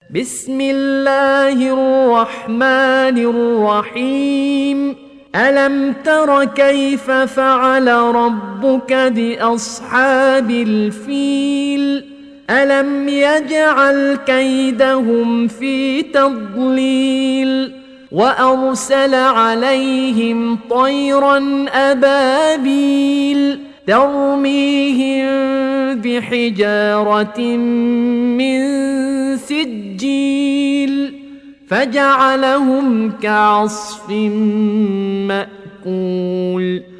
بسم الله الرحمن الرحيم ألم تر كيف فعل ربك بأصحاب الفيل ألم يجعل كيدهم في تضليل وأرسل عليهم طيرا أبابيل ترميهم بحجارة من سجيل فجعلهم كعصف مأكول